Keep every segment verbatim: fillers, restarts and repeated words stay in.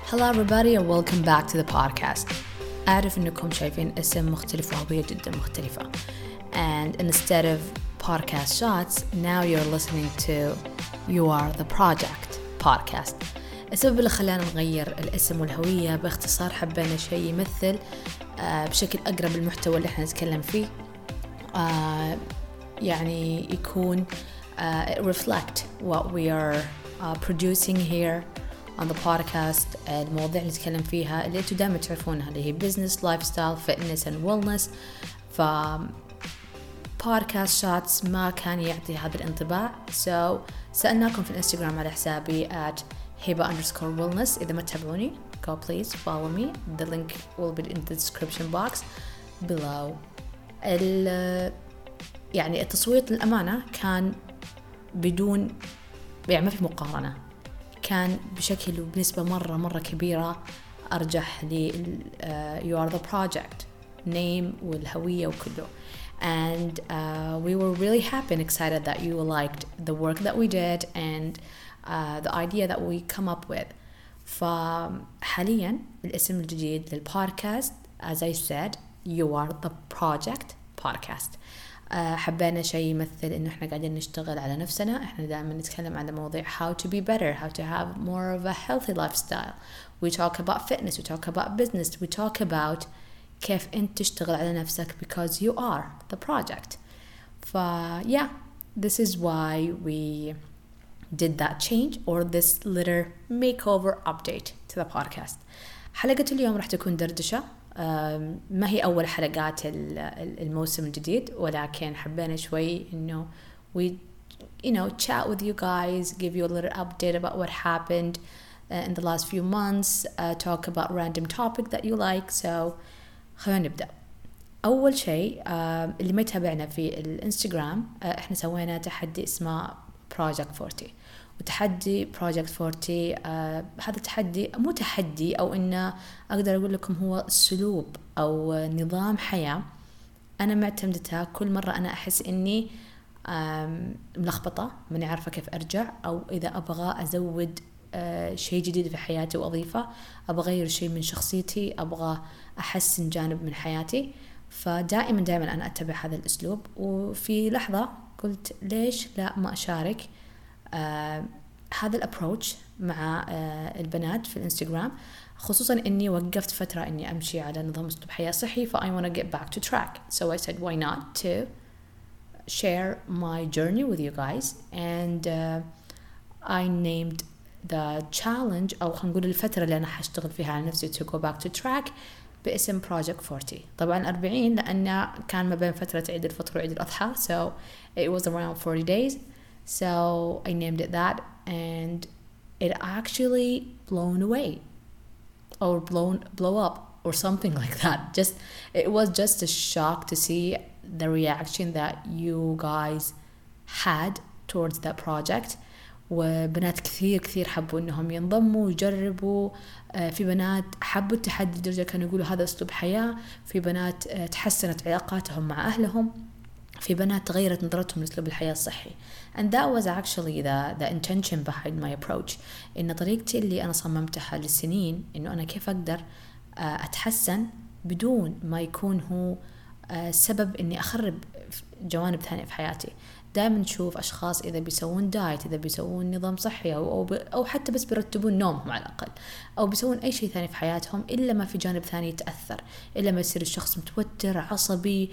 Hello everybody and welcome back to the podcast. أعرف إنكم شايفين اسم مختلف وهوية جدا مختلفة. And instead of podcast shots, now you're listening to You Are The Project podcast. السبب اللي خلانا نغير الاسم والهوية باختصار حبينا شيء يمثل آه بشكل أقرب المحتوى اللي احنا نتكلم فيه. آه يعني يكون uh, reflect what we are uh, producing here on the podcast. المواضيع اللي نتكلم فيها اللي انتوا دائما تعرفونها اللي هي business, lifestyle, fitness and wellness. ف podcast shots ما كان يعطي هذا الانطباع. So سألناكم في الانستغرام على حسابي at hiba underscore wellness. إذا ما تتابعوني go please follow me. The link will be in the description box below. ال يعني التصويت للأمانة كان بدون يعني ما في مقارنة، كان بشكل وبنسبة مرة مرة كبيرة أرجح ل uh, You Are The Project name والهوية وكله. And uh, we were really happy and excited that you liked the work that we did and uh, the idea that we come up with. فحاليا الاسم الجديد للبودكاست as I said You Are The Project podcast. حبينا شيء يمثل إنه إحنا قاعدين نشتغل على نفسنا. إحنا دائما نتكلم عن مواضيع how to be better, how to have more of a healthy lifestyle. We talk about fitness, we talk about business, we talk about كيف أنت تشتغل على نفسك because you are the project. ف yeah, this is why we did that change or this little makeover update to the podcast. حلقة اليوم راح تكون دردشة. ما هي أول حلقات الموسم الجديد، ولكن حبينا شوي إنه we you know chat with you guys, give you a little update about what happened uh, in the last few months, uh, talk about random topic that you like. So خلينا نبدأ. أول شيء uh, اللي ما يتابعنا في الانستغرام uh, إحنا سوينا تحدي اسمه Project فورتي. وتحدي Project فورتي آه هذا التحدي مو تحدي أو إنه أقدر أقول لكم هو أسلوب أو نظام حياة أنا معتمدتها كل مرة أنا أحس إني ملخبطة ماني عارفة كيف أرجع، أو إذا أبغى أزود آه شيء جديد في حياتي وأضيفه، أبغى أغير شيء من شخصيتي، أبغى أحسن جانب من حياتي. فدائما دائما أنا أتبع هذا الأسلوب. وفي لحظة قلت ليش لا ما أشارك آه هذا الابروتش مع آه البنات في الانستغرام، خصوصا اني وقفت فترة اني امشي على نظام اسلوب حياة صحي. ف I want to get back to track, so I said why not to share my journey with you guys. And uh, I named the challenge او خلينا نقول الفترة اللي انا حاشتغل فيها على نفسي to go back to track باسم Project فورتي. طبعا أربعين لأن كان ما بين فترة عيد الفطر وعيد الأضحى, so it was around forty days. So I named it that, and it actually blown away or blown blow up or something like that. Just it was just a shock to see the reaction that you guys had towards that project. وبنات كثير كثير حبوا انهم ينضموا ويجربوا. في بنات حبوا التحدي لدرجة كانوا يقولوا هذا اسلوب حياة. في بنات تحسنت علاقاتهم مع اهلهم. في بنات تغيرت نظرتهم لأسلوب الحياة الصحي. And that was actually the, the intention behind my approach. إن طريقتي اللي أنا صممتها للسنين إنه أنا كيف أقدر أتحسن بدون ما يكون هو سبب إني أخرب جوانب ثانية في حياتي. دائما نشوف أشخاص إذا بيسوون دايت، إذا بيسوون نظام صحي أو, أو, أو حتى بس بيرتبون نومهم على الأقل، أو بيسوون أي شيء ثاني في حياتهم، إلا ما في جانب ثاني يتأثر، إلا ما يصير الشخص متوتر عصبي،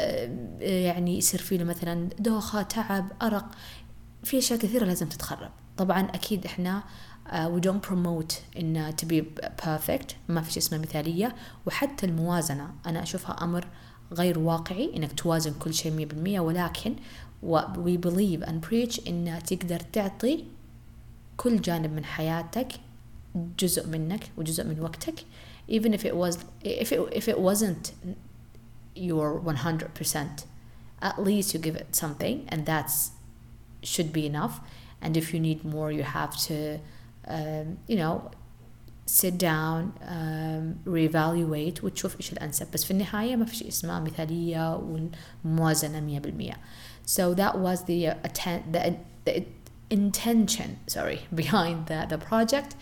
يعني يصير فيه مثلا دوخة، تعب، أرق، في أشياء كثيرة لازم تتخرب. طبعا أكيد إحنا uh, we don't promote إن to be perfect، ما في شيء اسمه مثالية. وحتى الموازنة أنا أشوفها أمر غير واقعي إنك توازن كل شيء مية بالمية، ولكن we believe and preach إن تقدر تعطي كل جانب من حياتك جزء منك وجزء من وقتك, even if it was if it if it wasn't your one hundred percent, at least you give it something, and that's should be enough. And if you need more, you have to um, you know sit down, um, reevaluate وتشوف إيش الأنسب. بس في النهاية ما في شيء اسمه مثالية والموازنة مية بالمية. So that was the uh, atten- the, the intention sorry behind the, the project.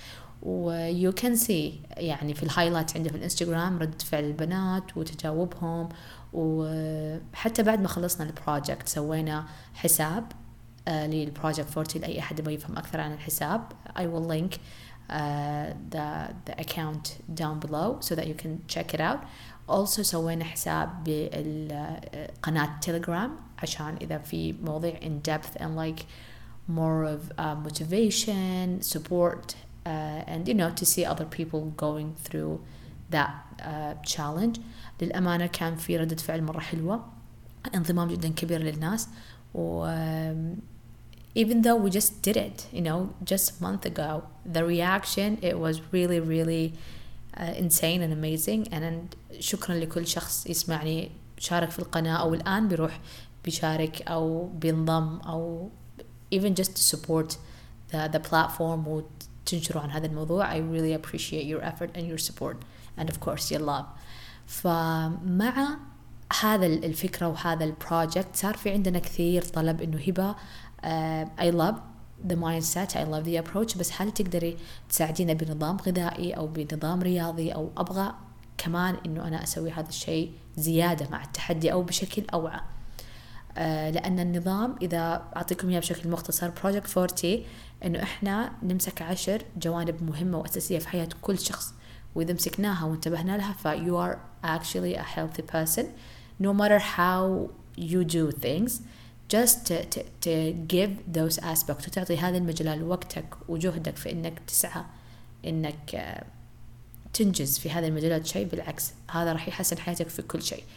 و you can see يعني في الهايلايت عندي في الانستغرام رد فعل البنات وتجاوبهم. وحتى بعد ما خلصنا البروجكت سوينا حساب uh, للبروجكت فورتي لأي أحد يبغى يفهم أكثر عن الحساب. I will link uh, the, the account down below so that you can check it out. also سوينا حساب بالقناة تيليجرام عشان إذا في مواضيع in depth and like more of uh, motivation, support uh, and you know to see other people going through that uh, challenge. للأمانة كان في ردة فعل مرة حلوة، انضمام جدا كبير للناس. و um, even though we just did it, you know, just a month ago, the reaction, it was really really uh, insane and amazing. and شكرا لكل شخص يسمعني شارك في القناة أو الآن بيروح بيشارك أو بينضم أو even just to support the, the platform وتنشروا عن هذا الموضوع. I really appreciate your effort and your support and of course your love. فمع هذا الفكرة وهذا البروجكت صار في عندنا كثير طلب إنه هبة uh, I love the mindset, I love the approach، بس هل تقدري تساعدينا بنظام غذائي أو بنظام رياضي، أو أبغى كمان إنه أنا أسوي هذا الشيء زيادة مع التحدي أو بشكل أوعى. آه لأن النظام إذا أعطيكم إياه بشكل مختصر بروجكت فورتي إنه إحنا نمسك عشر جوانب مهمة وأساسية في حياة كل شخص، وإذا مسكناها وانتبهنا لها ف you are actually a healthy person no matter how you do things. just to, to, to give those aspects وتعطي هذه المجال وقتك وجهدك في إنك تسعى إنك آه تنجز في هذه المجالات شيء بالعكس هذا راح يحسن حياتك في كل شيء.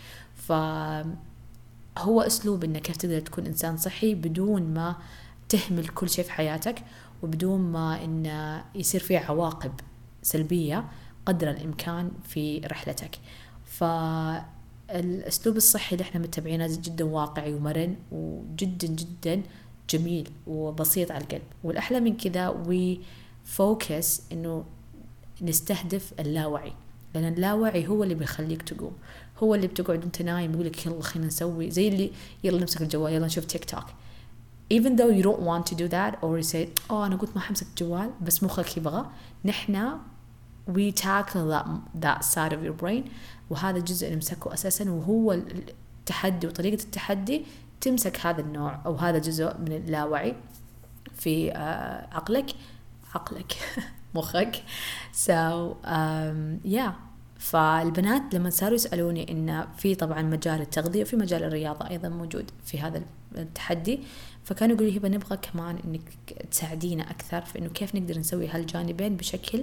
فهو أسلوب إنك كيف تقدر تكون إنسان صحي بدون ما تهمل كل شيء في حياتك وبدون ما إن يصير فيه عواقب سلبية قدر الإمكان في رحلتك. فالأسلوب الصحي اللي احنا متبعينه جدا واقعي ومرن وجدا جدا جميل وبسيط على القلب. والأحلى من كذا we focus إنه نستهدف اللاوعي، لأن اللاوعي هو اللي بيخليك تقوم، هو اللي بتقعد انت نايم يقولك يلا خلينا نسوي زي اللي يلا نمسك الجوال يلا نشوف تيك توك even though you don't want to do that or you say oh أنا قلت ما حمسك الجوال بس مخك يبغى. نحنا we tackle that, that side of your brain وهذا الجزء نمسكه أساسا وهو التحدي وطريقة التحدي تمسك هذا النوع أو هذا جزء من اللاوعي في uh, عقلك عقلك مخك. so um, yeah فالبنات لما صاروا يسألوني إن في طبعا مجال التغذية وفي مجال الرياضة أيضا موجود في هذا التحدي، فكانوا يقولوا هبة نبغى كمان إنك تساعدينا أكثر في إنه كيف نقدر نسوي هالجانبين بشكل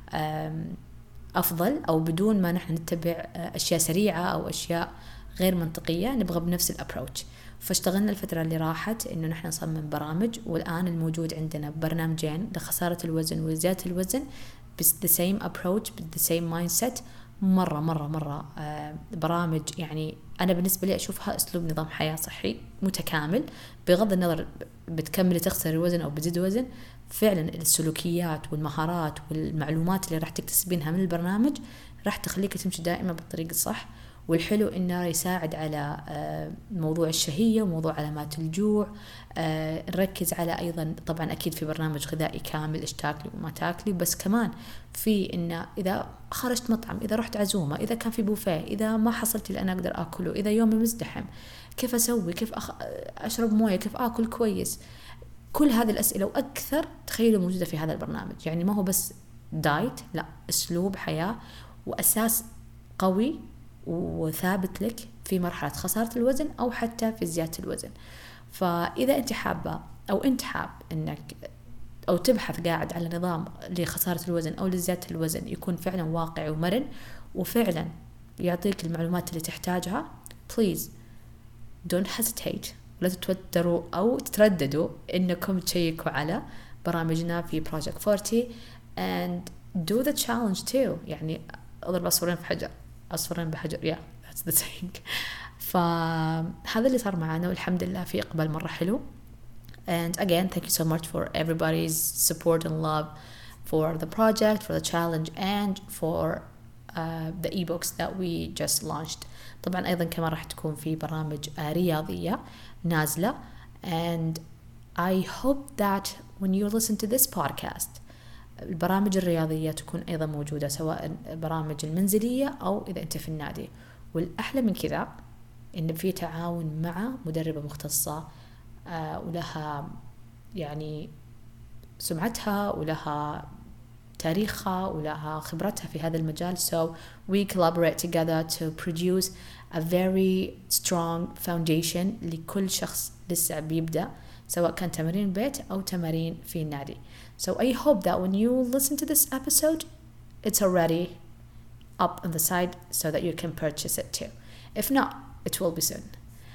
أفضل أو بدون ما نحن نتبع أشياء سريعة أو أشياء غير منطقية، نبغى بنفس الأبروتش. فاشتغلنا الفترة اللي راحت إنه نحن نصمم برامج، والآن الموجود عندنا برنامجين لخسارة الوزن وزيادة الوزن بس the same approach the same mindset. مرة مرة مرة آه برامج يعني أنا بالنسبة لي أشوفها أسلوب نظام حياة صحي متكامل بغض النظر بتكمل تخسر الوزن أو بتزيد وزن. فعلا السلوكيات والمهارات والمعلومات اللي راح تكتسبينها من البرنامج راح تخليك تمشي دائما بالطريق الصح. والحلو إنه يساعد على موضوع الشهية وموضوع علامات الجوع. نركز على أيضا طبعا أكيد في برنامج غذائي كامل إيش تاكلي وما تاكلي، بس كمان في إنه إذا خرجت مطعم، إذا رحت عزومة، إذا كان في بوفيه، إذا ما حصلت اللي أنا أقدر أكله، إذا يومي مزدحم كيف أسوي، كيف أخ... أشرب موية، كيف أكل كويس. كل هذه الأسئلة وأكثر تخيلوا موجودة في هذا البرنامج. يعني ما هو بس دايت، لا أسلوب حياة وأساس قوي وثابت لك في مرحلة خسارة الوزن أو حتى في زيادة الوزن. فإذا أنت حابة أو أنت حاب أنك أو تبحث قاعد على نظام لخسارة الوزن أو لزيادة الوزن يكون فعلا واقعي ومرن وفعلا يعطيك المعلومات اللي تحتاجها، please don't hesitate، لا تتوتروا أو تترددوا إنكم تشيكوا على برامجنا في Project فورتي and do the challenge too. يعني أضرب عصفورين في حجر عصفورين بحجر yeah that's the saying. فهذا اللي صار معنا والحمد لله في إقبال مرة حلو. and again thank you so much for everybody's support and love for the project, for the challenge and for uh, the ebooks that we just launched. طبعا أيضا كما راح تكون في برامج رياضية نازلة and I hope that when you listen to this podcast البرامج الرياضية تكون أيضا موجودة، سواء البرامج المنزلية أو إذا أنت في النادي. والأحلى من كذا إن في تعاون مع مدربة مختصة آه ولها يعني سمعتها ولها تاريخها ولها خبرتها في هذا المجال. So we collaborate together to produce a very strong foundation لكل شخص لسه بيبدأ، سواء كان تمارين بيت أو تمارين في النادي. So I hope that when you listen to this episode, it's already up on the side so that you can purchase it too. If not, it will be soon.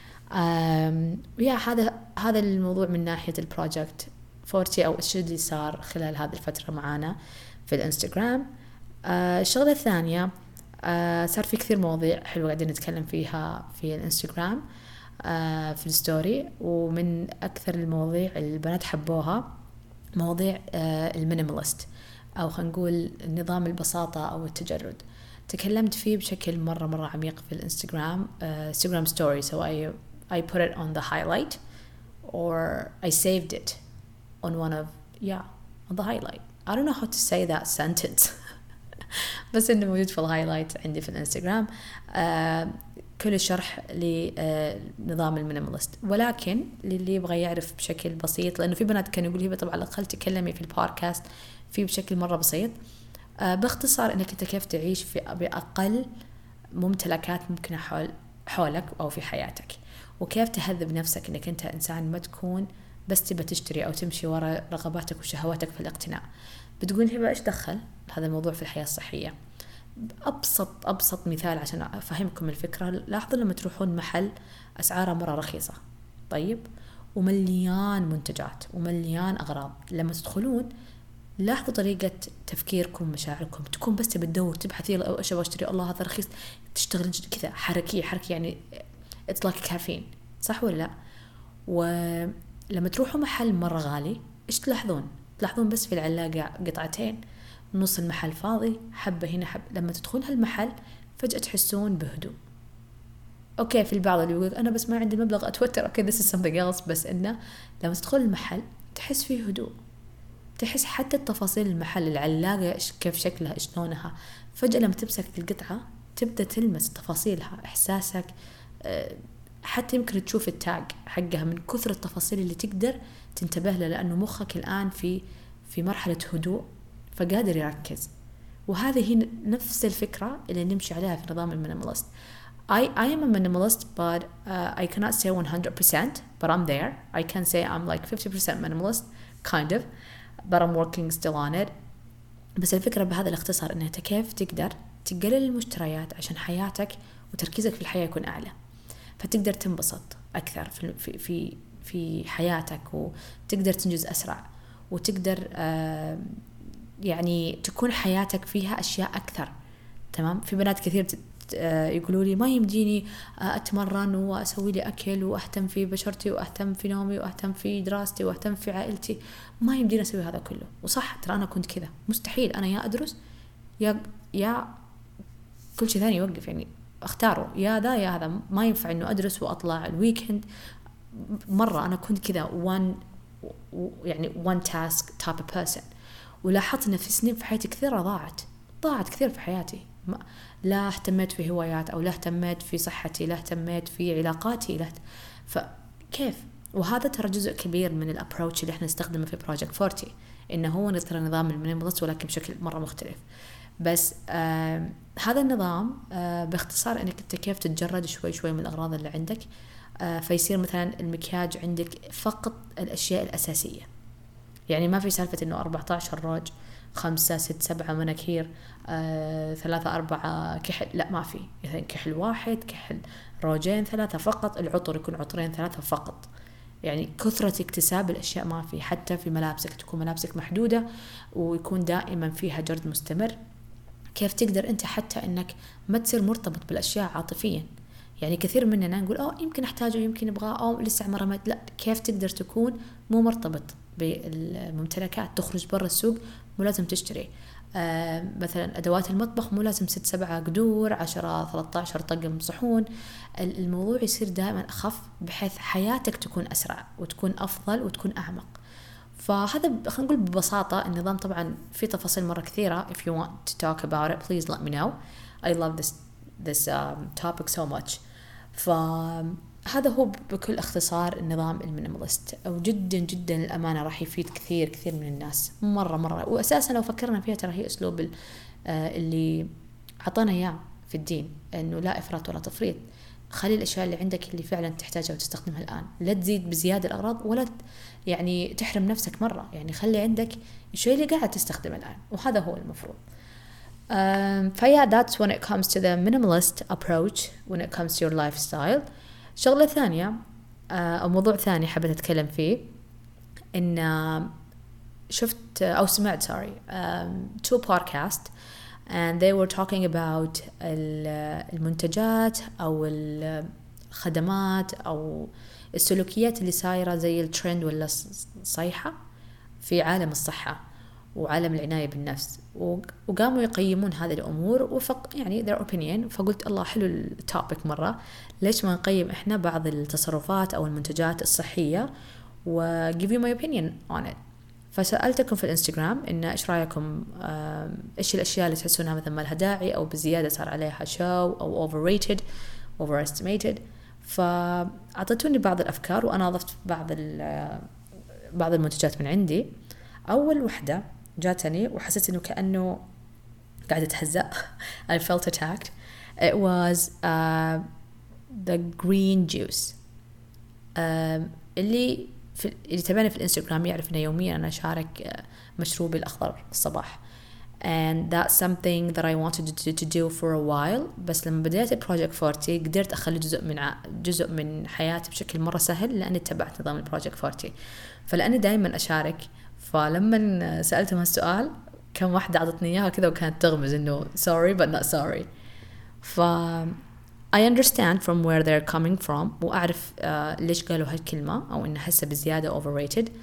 Um, yeah, هذا هذا الموضوع من ناحية البروجكت فورتي أو إيش اللي صار خلال هذه الفترة معانا في الانستغرام. آه الشغلة الثانية، آه صار في كثير مواضيع حلوة قاعدين نتكلم فيها في الانستغرام آه في الستوري، ومن أكثر المواضيع اللي البنات حبوها مواضيع آه المينيماليست، أو خلينا نقول نظام البساطة أو التجرد. تكلمت فيه بشكل مرة مرة عميق في الانستغرام انستغرام ستوري. so I, I put it on the highlight or I saved it on one of yeah on the highlight. I don't know how to say that sentence بس إنه موجود في الهايلايت عندي في الانستغرام آه كل الشرح لنظام المينيماليست. ولكن للي يبغى يعرف بشكل بسيط، لأنه في بنات كانوا يقولوا هبة طبعا على الأقل تكلمي في البودكاست فيه بشكل مرة بسيط. آه باختصار إنك أنت كيف تعيش في بأقل ممتلكات ممكنة حول حولك أو في حياتك، وكيف تهذب نفسك إنك أنت إنسان ما تكون بس تبى تشتري أو تمشي وراء رغباتك وشهواتك في الاقتناء. بتقول هبة إيش دخل هذا الموضوع في الحياة الصحية؟ أبسط أبسط مثال عشان أفهمكم الفكرة، لاحظوا لما تروحون محل أسعاره مرة رخيصة طيب ومليان منتجات ومليان أغراض، لما تدخلون لاحظوا طريقة تفكيركم مشاعركم تكون بس تبدور تبحثي أو إيش أبغى أشتري، الله هذا رخيص، تشتغل كذا حركية حركة يعني it's like caffeine، صح ولا لا؟ ولما تروحوا محل مرة غالي إيش تلاحظون؟ تلاحظون بس في العلاقة قطعتين، نص المحل فاضي، حبة هنا حبة. لما تدخلون هالمحل فجأة تحسون بهدوء. أوكي في البعض اللي يقول أنا بس ما عندي مبلغ أتوتر، أوكي this is something else، بس إنه لما تدخل المحل تحس فيه هدوء، تحس حتى التفاصيل المحل، العلاقة كيف شكلها إيش لونها، فجأة لما تمسك القطعة تبدأ تلمس تفاصيلها، إحساسك حتى يمكن تشوف التاج حقها من كثر التفاصيل اللي تقدر تنتبه له، لأنه مخك الآن في في مرحلة هدوء فقادر يركز. وهذه هي نفس الفكرة اللي نمشي عليها في نظام المينيماليست. I, I am a minimalist but uh, I cannot say one hundred percent but I'm there. I can say I'm like fifty percent minimalist kind of but I'm working still on it. بس الفكرة بهذا الاختصار إنها كيف تقدر تقلل المشتريات عشان حياتك وتركيزك في الحياة يكون أعلى، فتقدر تنبسط أكثر في في في, في حياتك، وتقدر تنجز أسرع، وتقدر آه يعني تكون حياتك فيها أشياء أكثر. تمام. في بنات كثير يقولوا لي ما يمديني أتمرن وأسوي لي أكل وأهتم في بشرتي وأهتم في نومي وأهتم في دراستي وأهتم في عائلتي، ما يمديني أسوي هذا كله. وصح، ترى أنا كنت كذا، مستحيل أنا يا أدرس يا يا كل شيء ثاني يوقف، يعني أختاره يا ذا يا هذا، ما ينفع إنه أدرس وأطلع الويكند. مرة أنا كنت كذا one يعني one task type of person. ولاحظت إن في سنين في حياتي كثيرة ضاعت ضاعت كثير في حياتي، لا اهتميت في هوايات أو لا اهتميت في صحتي، لا اهتميت في علاقاتي، لا فكيف. وهذا ترى جزء كبير من الابروتش اللي احنا نستخدمه في بروجكت فورتي، إنه هو ترى نظام المينيماليست ولكن بشكل مرة مختلف. بس آه هذا النظام آه باختصار إنك أنت كيف تتجرد شوي شوي من الأغراض اللي عندك، آه فيصير مثلا المكياج عندك فقط الأشياء الأساسية، يعني ما في سالفة إنه أربعة عشر روج، خمسة ست سبعة مناكير، آه، ثلاثة أربعة كحل، لا ما في، يعني كحل واحد، كحل روجين، ثلاثة فقط، العطر يكون عطرين ثلاثة فقط. يعني كثرة اكتساب الأشياء ما في. حتى في ملابسك تكون ملابسك محدودة ويكون دائما فيها جرد مستمر. كيف تقدر أنت حتى أنك ما تصير مرتبط بالأشياء عاطفيا؟ يعني كثير مننا نقول أوه يمكن أحتاجه يمكن أبغاه أو لسه عمره ما، لا، كيف تقدر تكون مو مرتبط بالممتلكات؟ تخرج برا السوق مو لازم تشتري آه مثلا أدوات المطبخ مو لازم ست سبعة قدور، عشرة ثلاثة عشر طقم صحون. الموضوع يصير دائما أخف بحيث حياتك تكون أسرع وتكون أفضل وتكون أعمق. فهذا خلينا نقول ببساطة النظام. طبعا في تفاصيل مرة كثيرة. If you want to talk about it please let me know. I love this this um, topic so much. فهذا هو بكل اختصار النظام المينيماليست، وجدا جدا الأمانة راح يفيد كثير كثير من الناس مرة مرة. وأساسا لو فكرنا فيها ترى هي أسلوب اللي عطانا إياه في الدين، إنه لا إفراط ولا تفريط. خلي الأشياء اللي عندك اللي فعلا تحتاجها وتستخدمها الآن، لا تزيد بزيادة الأغراض ولا يعني تحرم نفسك مرة. يعني خلي عندك الشيء اللي قاعد تستخدمه الآن، وهذا هو المفروض. um, فيا that's when it comes to the minimalist approach when it comes to your lifestyle. شغلة ثانية uh, أو موضوع ثاني حبيت أتكلم فيه، إن uh, شفت أو سمعت sorry um, two podcast and they were talking about المنتجات أو الخدمات أو السلوكيات اللي صايرة زي الترند ولا الصيحة في عالم الصحة وعالم العناية بالنفس، وقاموا يقيمون هذه الأمور وفق يعني their opinion. فقلت الله حلو التوبيك مرة، ليش ما نقيم إحنا بعض التصرفات أو المنتجات الصحية و give you my opinion on it. فسألتكم في الانستغرام إن إيش رأيكم، إيش الأشياء اللي تحسونها مثلا ما لها داعي أو بزيادة صار عليها شو أو overrated overestimated. فأعطيتوني بعض الأفكار وأنا أضفت بعض بعض المنتجات من عندي. أول وحدة جاتني وحسيت إنه كأنه قاعدة أتهزأ I felt attacked. It was uh, the green juice. uh, اللي في اللي تابعني في الانستغرام يعرف إنه يوميا أنا أشارك مشروبي الأخضر الصباح. and that's something that I wanted to, to do for a while. بس لما بديت البروجكت فورتي قدرت أخلي جزء من ع... جزء من حياتي بشكل مرة سهل لأني اتبعت نظام البروجكت فورتي. فلأني دائما أشارك، فلما سألتهم هالسؤال كم واحدة عطتني إياها كذا وكانت تغمز إنه sorry but not sorry. ف I understand from where they're coming from وأعرف uh, ليش قالوا هالكلمة أو إن حسها بزيادة overrated. uh,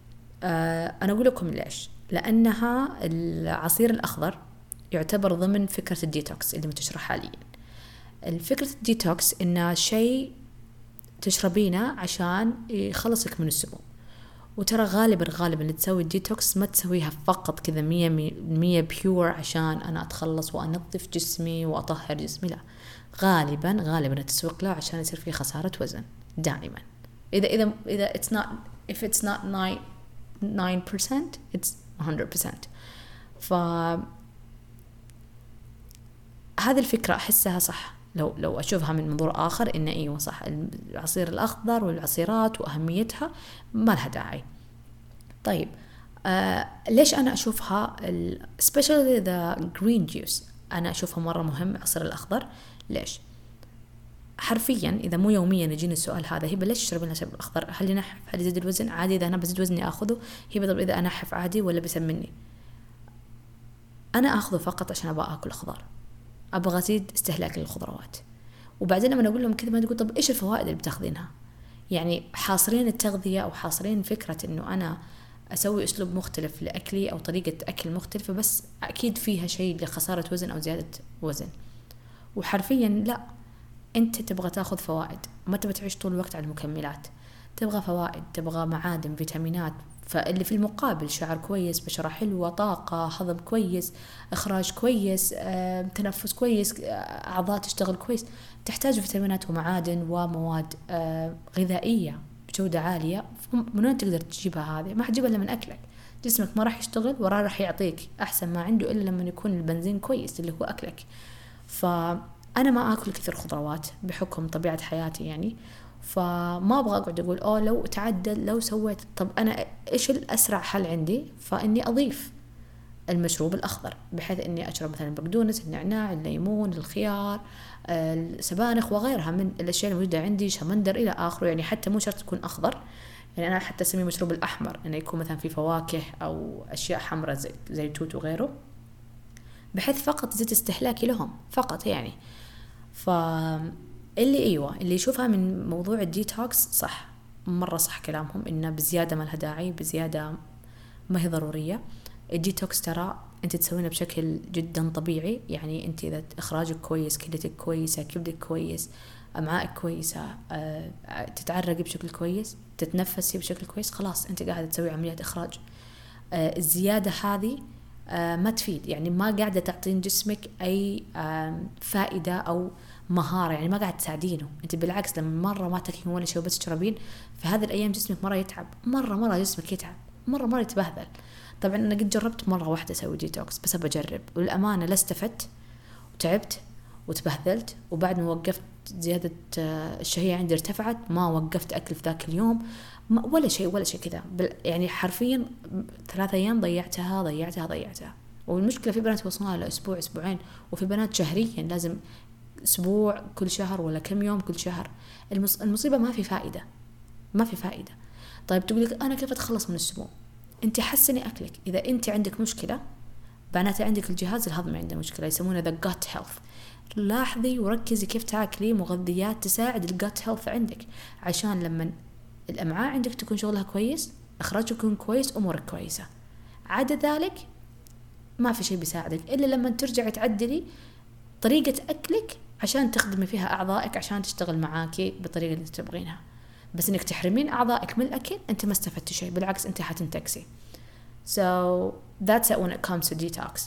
أنا أقول لكم ليش. لأنها العصير الأخضر يعتبر ضمن فكرة الديتوكس اللي منتشرة حاليا. الفكرة الديتوكس إنه شيء تشربينه عشان يخلصك من السموم. وترى غالبا غالبا اللي تسوي الديتوكس ما تسويها فقط كذا مية مية بيور عشان أنا أتخلص وأنظف جسمي وأطهر جسمي، لا، غالبا غالبا التسويق له عشان يصير فيه خسارة وزن دائما. إذا إذا إذا it's not if it's not nine nine percent it's one hundred percent. ف هذه الفكرة أحسها صح لو لو أشوفها من منظور آخر، إن أيوة صح العصير الأخضر والعصيرات وأهميتها ما لها داعي. طيب آه ليش أنا أشوفها especially the green juice أنا أشوفها مرة مهم العصير الأخضر؟ ليش؟ حرفيا إذا مو يوميا يجيني السؤال هذا، هي ليش تشربين العصير الأخضر؟ هل ينحف؟ هل يزيد الوزن؟ عادي إذا أنا بزيد وزني أخذه. هي بضرب إذا أنحف عادي ولا بيسمني؟ أنا أخذه فقط عشان أبغى أكل خضار، أبغى أزيد استهلاك للخضروات. وبعدين لما أقول لهم كذا ما تقول طب إيش الفوائد اللي بتاخذينها؟ يعني حاصرين التغذية أو حاصرين فكرة إنه أنا أسوي أسلوب مختلف لأكلي أو طريقة أكل مختلفة، بس أكيد فيها شيء لخسارة وزن أو زيادة وزن. وحرفيا لا، أنت تبغى تاخذ فوائد، ما تبغى تعيش طول الوقت على المكملات. تبغى فوائد، تبغى معادن، فيتامينات، فاللي في المقابل شعر كويس، بشرة حلوة، طاقة، هضم كويس، إخراج كويس، آه، تنفس كويس، آه، أعضاء تشتغل كويس. تحتاج فيتامينات ومعادن ومواد آه، غذائية بجودة عالية. من وين تقدر تجيبها هذه؟ ما حتجيبها إلا من أكلك. جسمك ما راح يشتغل وراه راح يعطيك أحسن ما عنده إلا لما يكون البنزين كويس اللي هو أكلك. فأنا ما أكل كثير خضروات بحكم طبيعة حياتي يعني، فما أبغى أقعد أقول أوه لو تعدل لو سويت. طب أنا إيش الأسرع حل عندي؟ فإني أضيف المشروب الأخضر بحيث إني أشرب مثلا البقدونس، النعناع، الليمون، الخيار، السبانخ وغيرها من الأشياء الموجودة عندي، شمندر إلى آخره. يعني حتى مو شرط تكون أخضر، يعني أنا حتى أسميه مشروب الأحمر، إنه يكون مثلا في فواكه أو أشياء حمراء زي زي التوت وغيره، بحيث فقط زيت استهلاكي لهم فقط يعني. ف اللي أيوة اللي يشوفها من موضوع الديتوكس صح، مرة صح كلامهم إنه بزيادة ما لها داعي، بزيادة ما هي ضرورية. الديتوكس ترى أنت تسوينه بشكل جدا طبيعي. يعني أنت إذا إخراجك كويس، كليتك كويسة، كبدك كويس، أمعائك كويسة، تتعرقي بشكل كويس، تتنفسي بشكل كويس، خلاص أنت قاعدة تسوي عملية إخراج. الزيادة هذه ما تفيد، يعني ما قاعدة تعطين جسمك أي فائدة أو مهارة، يعني ما قاعد تساعدينه. أنت بالعكس لما مرة ما تاكلين ولا شيء وبس تشربين، في هذه الأيام جسمك مرة يتعب، مرة مرة جسمك يتعب، مرة مرة يتبهذل. طبعا أنا قد جربت مرة واحدة أسوي ديتوكس، بس أبجرب، والأمانة لا استفدت وتعبت وتبهذلت. وبعد ما وقفت زيادة الشهية عندي ارتفعت، ما وقفت أكل في ذاك اليوم ولا شيء ولا شيء كذا، يعني حرفيا ثلاثة أيام ضيعتها ضيعتها ضيعتها. والمشكلة في بنات وصلنا لأسبوع أسبوعين، وفي بنات شهريا لازم أسبوع كل شهر ولا كم يوم كل شهر. المصيبة ما في فائدة، ما في فائدة. طيب تقولك أنا كيف أتخلص من السموم؟ أنت حسني أكلك. إذا أنت عندك مشكلة معناته عندك الجهاز الهضمي عنده مشكلة، يسمونه the gut health. لاحظي وركزي كيف تاكلي مغذيات تساعد الجت هيلث عندك، عشان لما الأمعاء عندك تكون شغلها كويس، إخراجك يكون كويس، أمورك كويسة. عدا ذلك ما في شيء بيساعدك إلا لما ترجعي تعدلي طريقة أكلك عشان تخدمي فيها أعضائك عشان تشتغل معاكي بالطريقة اللي تبغينها. بس إنك تحرمين أعضائك من الأكل أنت ما استفدتي شيء، بالعكس أنت حتنتكسي. So that's it when it comes to detox.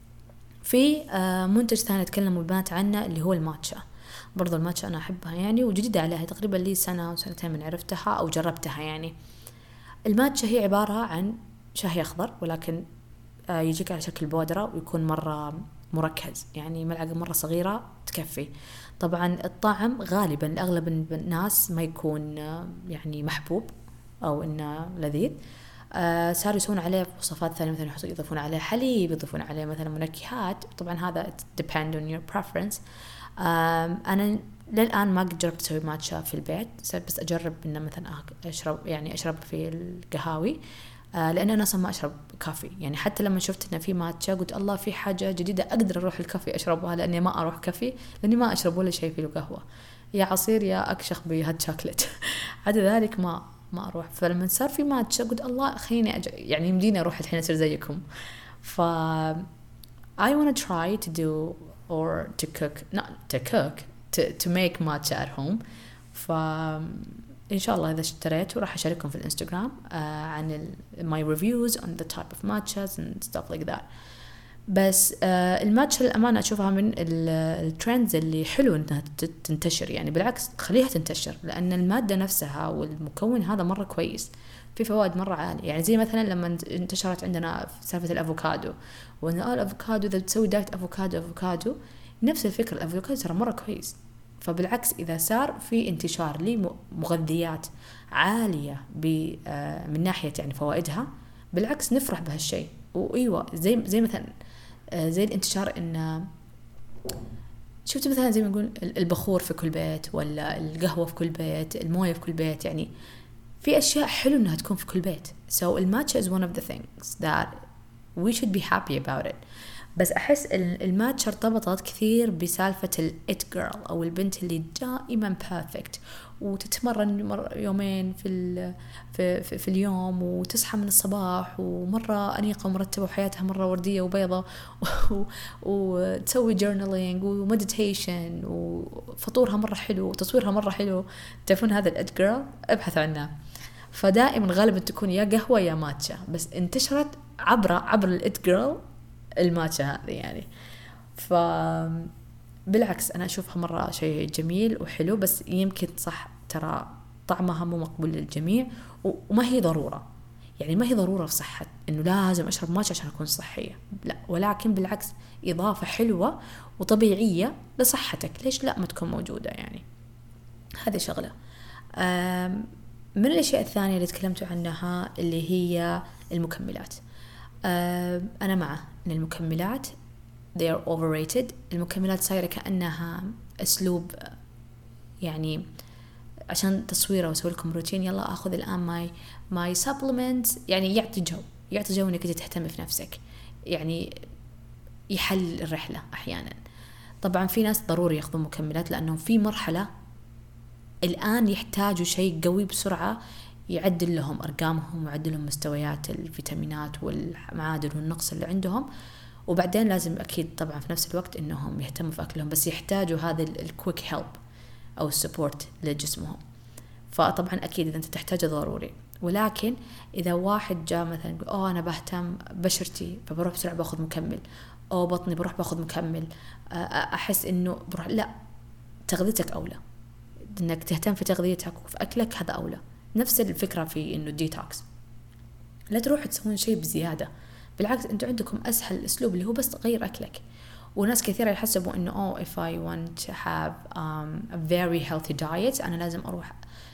في منتج ثاني تكلموا البنات عنه اللي هو الماتشا. برضو الماتشا أنا أحبها يعني، وجديدة عليها تقريبا لي سنة وسنتين من عرفتها أو جربتها. يعني الماتشا هي عبارة عن شاي أخضر، ولكن يجيك على شكل بودرة ويكون مرة مركز، يعني ملعقة مرة صغيرة تكفي. طبعا الطعم غالبا لأغلب الناس ما يكون يعني محبوب أو إنه لذيذ. آه صاروا يسوون عليه وصفات ثانية، مثلا يضيفون عليه حليب، يضيفون عليه مثلا منكهات. طبعا هذا depend on your preference. آه أنا للآن ما قد جربت أسوي ماتشا في البيت، بس أجرب إنه مثلا أشرب يعني أشرب في القهاوي، آه لأن أنا أصلا ما أشرب كافي. يعني حتى لما شفت إنه في ماتشا قلت الله في حاجة جديدة أقدر أروح الكافي أشربها، لأني ما أروح كافي لأني ما أشرب ولا شيء في القهوة، يا عصير يا أكشخ بهاد شوكلت. عدا ذلك ما ما أروح. فلما صار في ماتشا قلت الله خليني أج... يعني يمديني أروح الحين أصير زيكم. ف I want to try to do or to cook not to cook to to make matcha at home. ف إن شاء الله إذا اشتريت وراح أشارككم في الإنستغرام uh, عن ال... my reviews on the type of matchas and stuff like that. بس آه الماتشا للأمانة أشوفها من الترندز اللي حلو إنها تنتشر، يعني بالعكس خليها تنتشر، لأن المادة نفسها والمكون هذا مرة كويس، في فوائد مرة عالية. يعني زي مثلا لما انتشرت عندنا سالفة الأفوكادو، وإن آه الأفوكادو إذا بتسوي دايت أفوكادو أفوكادو نفس الفكرة، الأفوكادو ترى مرة كويس. فبالعكس إذا صار في انتشار لمغذيات عالية آه من ناحية يعني فوائدها، بالعكس نفرح بهالشيء. وأيوة زي زي مثلا زي الانتشار إن شفت مثلا زي ما نقول البخور في كل بيت، ولا القهوة في كل بيت، الموية في كل بيت، يعني في أشياء حلو إنها تكون في كل بيت. So الماتشا is one of the things that we should be happy about it. بس أحس الماتشا ارتبطت كثير بسالفة الإت جيرل أو البنت اللي دائما perfect، وتتمرن يومين في, في, في, في اليوم، وتصحى من الصباح ومرة أنيقة ومرتبة وحياتها مرة وردية وبيضة، وتسوي journaling ومديتيشن وفطورها مرة حلو وتصويرها مرة حلو. تعرفون هذا الإت جيرل؟ ابحثوا عنها. فدائما غالبا تكون يا قهوة يا ماتشا، بس انتشرت عبر عبر الإت جيرل الماتشا هذه يعني. ف بالعكس أنا أشوفها مرة شيء جميل وحلو، بس يمكن صح ترى طعمها مو مقبول للجميع، وما هي ضرورة، يعني ما هي ضرورة في صحة إنه لازم أشرب ماتشا عشان أكون صحية، لا، ولكن بالعكس إضافة حلوة وطبيعية لصحتك، ليش لا ما تكون موجودة يعني. هذه شغلة. من الأشياء الثانية اللي تكلمتوا عنها اللي هي المكملات. أنا مع أن المكملات they are overrated. المكملات صايرة كأنها أسلوب يعني عشان تصويره وأسوي لكم روتين، يلا أخذ الآن ماي ماي supplements، يعني يعطي جو يعطي جو إنك تهتم في نفسك، يعني يحل الرحلة أحيانا. طبعا في ناس ضروري يأخذوا مكملات لأنهم في مرحلة الآن يحتاجوا شيء قوي بسرعة يعدل لهم أرقامهم ويعدل لهم مستويات الفيتامينات والمعادن والنقص اللي عندهم. وبعدين لازم أكيد طبعا في نفس الوقت إنهم يهتموا في أكلهم، بس يحتاجوا هذا الكويك هيلب أو السبورت لجسمهم. فطبعا أكيد إذا أنت تحتاجه ضروري. ولكن إذا واحد جاء مثلا يقول أوه أنا بهتم بشرتي فبروح بسرعة باخذ مكمل، أو بطني بروح باخذ مكمل، أحس إنه بروح، لا، تغذيتك أولى، إنك تهتم في تغذيتك وفي أكلك هذا أولى. نفس الفكرة في إنه ديتوكس، لا تروح تسوون شيء بزيادة، بالعكس أنتوا عندكم أسهل أسلوب اللي هو بس غير أكلك. وناس كثيرة يحسبوا إنه oh if I want to have um, a very healthy diet أنا لازم أروح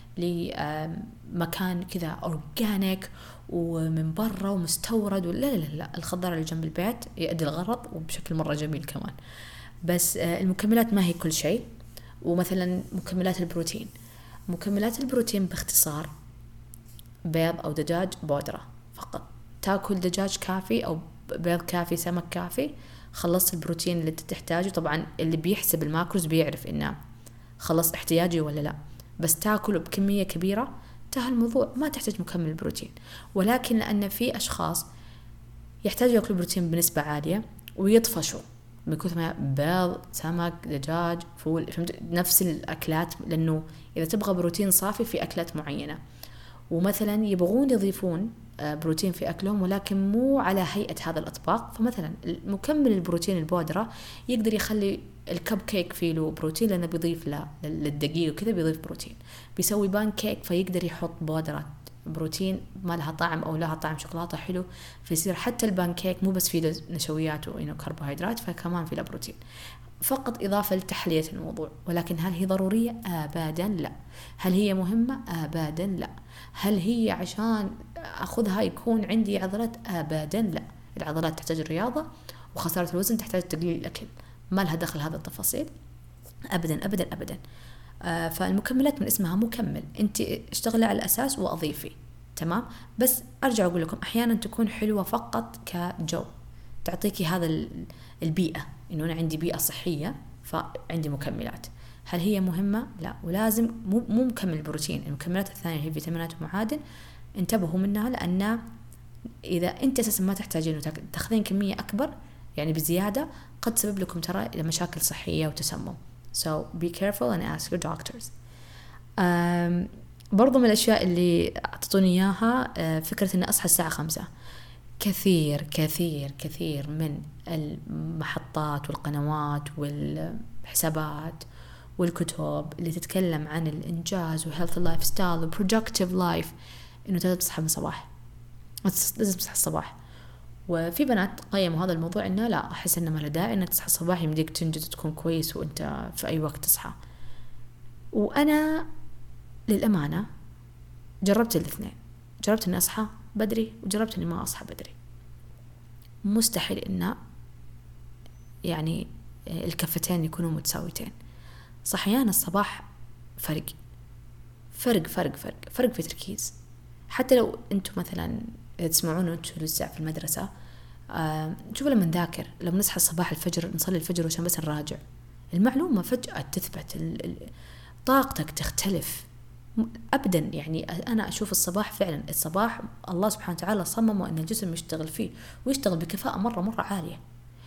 لمكان كذا أورجانيك ومن برا ومستورد، ولا لا لا لا، الخضار اللي جنب البيت يؤدي الغرض وبشكل مرة جميل كمان. بس المكملات ما هي كل شيء. ومثلا مكملات البروتين، مكملات البروتين باختصار بيض أو دجاج بودرة فقط. تاكل دجاج كافي أو بيض كافي، سمك كافي، خلصت البروتين اللي تحتاجه. طبعا اللي بيحسب الماكروز بيعرف إنه خلص احتياجي ولا لا، بس تاكله بكمية كبيرة انتهى الموضوع، ما تحتاج مكمل بروتين. ولكن لأن في أشخاص يحتاجوا يأكلوا بروتين بنسبة عالية ويطفشوا من كثر ما بيض، سمك، دجاج، فول، نفس الأكلات، لأنه إذا تبغى بروتين صافي في أكلات معينة، ومثلا يبغون يضيفون بروتين في أكلهم ولكن مو على هيئة هذا الأطباق. فمثلا مكمل البروتين البودرة يقدر يخلي الكب كيك فيه له بروتين لأنه بيضيف له للدقيق وكذا بيضيف بروتين. بيسوي بان كيك فيقدر يحط بودرة بروتين ما لها طعم أو لها طعم شوكولاتة حلو، فيصير حتى البان كيك مو بس فيه نشويات وكربوهيدرات، فكمان فيه له بروتين، فقط إضافة لتحلية الموضوع. ولكن هل هي ضرورية؟ أبدا لا. هل هي مهمة؟ أبدا لا. هل هي عشان أخذها يكون عندي عضلات؟ أبدا لا. العضلات تحتاج الرياضة، وخسارة الوزن تحتاج تقليل الأكل، ما لها دخل هذا التفاصيل أبدا أبدا أبدا. آه فالمكملات من اسمها مكمل، أنت اشتغلي على الأساس وأضيفي، تمام. بس أرجع أقول لكم أحيانا تكون حلوة فقط كجو، تعطيكي هذا البيئة، إنه أنا عندي بيئة صحية فعندي مكملات. هل هي مهمة؟ لا. ولازم مو مو مكمل بروتين، المكملات الثانية هي فيتامينات ومعادن، انتبهوا منها، لأن إذا أنت أساسا ما تحتاجين تاخذين كمية أكبر يعني بزيادة قد تسبب لكم ترى مشاكل صحية وتسمم. so be careful and ask your doctors. um, برضو من الأشياء اللي أعطوني إياها فكرة أن أصحى الساعة خمسة. كثير كثير كثير من المحطات والقنوات والحسابات والكتب اللي تتكلم عن الإنجاز وhealth lifestyle وproductive life إنه تقدر تصحى من الصباح، لازم تصحى الصباح. وفي بنات قيموا هذا الموضوع إنه لا، أحس إنه ما له داعي إنك تصحى الصباح، يمديك تنجز وتكون كويس وأنت في أي وقت تصحى. وأنا للأمانة جربت الاثنين، جربت إني أصحى بدري وجربت إني ما أصحى بدري. مستحيل إن يعني الكفتين يكونوا متساويتين. صحيان الصباح فرق فرق فرق فرق فرق في تركيز. حتى لو أنتم مثلا تسمعون أنتم لسه في المدرسة، آه شوفوا لما نذاكر، لما نصحى الصباح الفجر نصلي الفجر عشان بس نراجع المعلومة فجأة تثبت، طاقتك تختلف أبدا. يعني أنا أشوف الصباح فعلا، الصباح الله سبحانه وتعالى صممه أن الجسم يشتغل فيه ويشتغل بكفاءة مرة مرة عالية.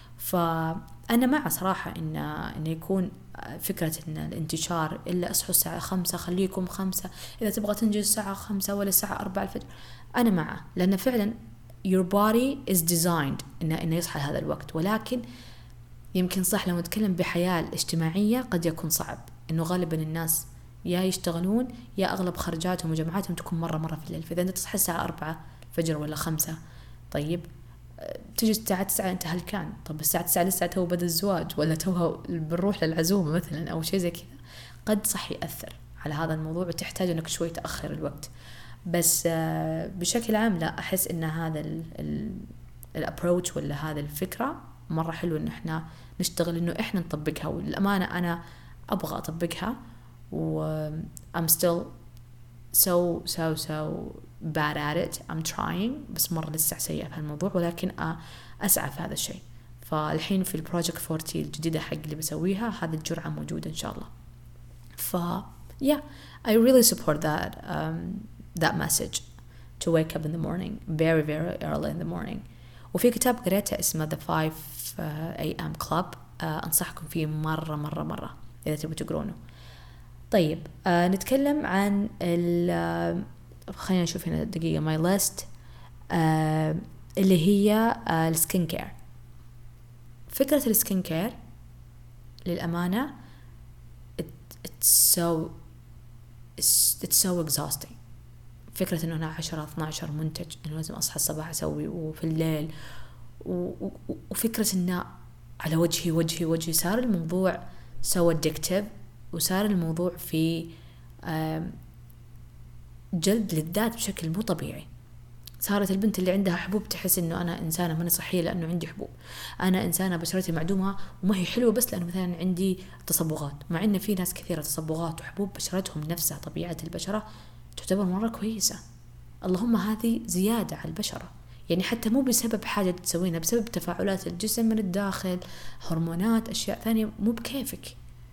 فأنا مع صراحة إن إن يكون فكرة إن الانتشار إلا أصحوا الساعة خمسة، خليكم خمسة، إذا تبغى تنجز الساعة خمسة ولا الساعة أربعة الفجر، أنا معه، لأن فعلا your body is designed إنه إنه يصحى هذا الوقت. ولكن يمكن صح لو نتكلم بحياة الاجتماعية قد يكون صعب، إنه غالبا الناس يا يشتغلون يا أغلب خرجاتهم وجمعاتهم تكون مرة مرة في الليل. فإذا أنت تصحى الساعة أربعة فجر ولا خمسة، طيب تجي الساعة تسعة أنت هل كان؟ طب الساعة تسعة لسه تو بدأ الزواج ولا توها بنروح للعزومة مثلا أو شيء زي كذا، قد صح يأثر على هذا الموضوع وتحتاج أنك شوي تأخر الوقت. بس بشكل عام لا، أحس إن هذا الابروتش ولا هذا الفكرة مرة حلو إن إحنا نشتغل إنه إحنا نطبقها. والأمانة أنا أبغى أطبقها و I'm still so so so bad at it. I'm trying، بس مرة لسه سيئة في الموضوع، ولكن أسعى في هذا الشيء. فالحين في البروجكت فورتي الجديدة حق اللي بسويها هذه الجرعة موجودة إن شاء الله. ف yeah I really support that. um, that message to wake up in the morning very very early in the morning. وفي كتاب قريته اسمه The five A M Club، آه أنصحكم فيه مرة مرة مرة إذا تبغوا تقرونه. طيب آه نتكلم عن ال خلينا نشوف هنا دقيقة my list، آه اللي هي آه السكين كير. فكرة السكين كير للأمانة it, it's so it's, it's so exhausting. فكرة إنه أنا عشرة اثناشر منتج إنه لازم أصحى الصباح أسوي وفي الليل و... وفكرة إنه على وجهي وجهي وجهي صار الموضوع so addictive، وصار الموضوع في جلد للذات بشكل مو طبيعي. صارت البنت اللي عندها حبوب تحس إنه أنا إنسانة ماني صحية لأنه عندي حبوب، أنا إنسانة بشرتي معدومة وما هي حلوة بس لأنه مثلا عندي تصبغات، مع إن في ناس كثيرة تصبغات وحبوب بشرتهم نفسها طبيعة البشرة تعتبر مرة كويسة، اللهم هذه زيادة على البشرة، يعني حتى مو بسبب حاجة تسوينها، بسبب تفاعلات الجسم من الداخل، هرمونات، أشياء ثانية مو بكيفك.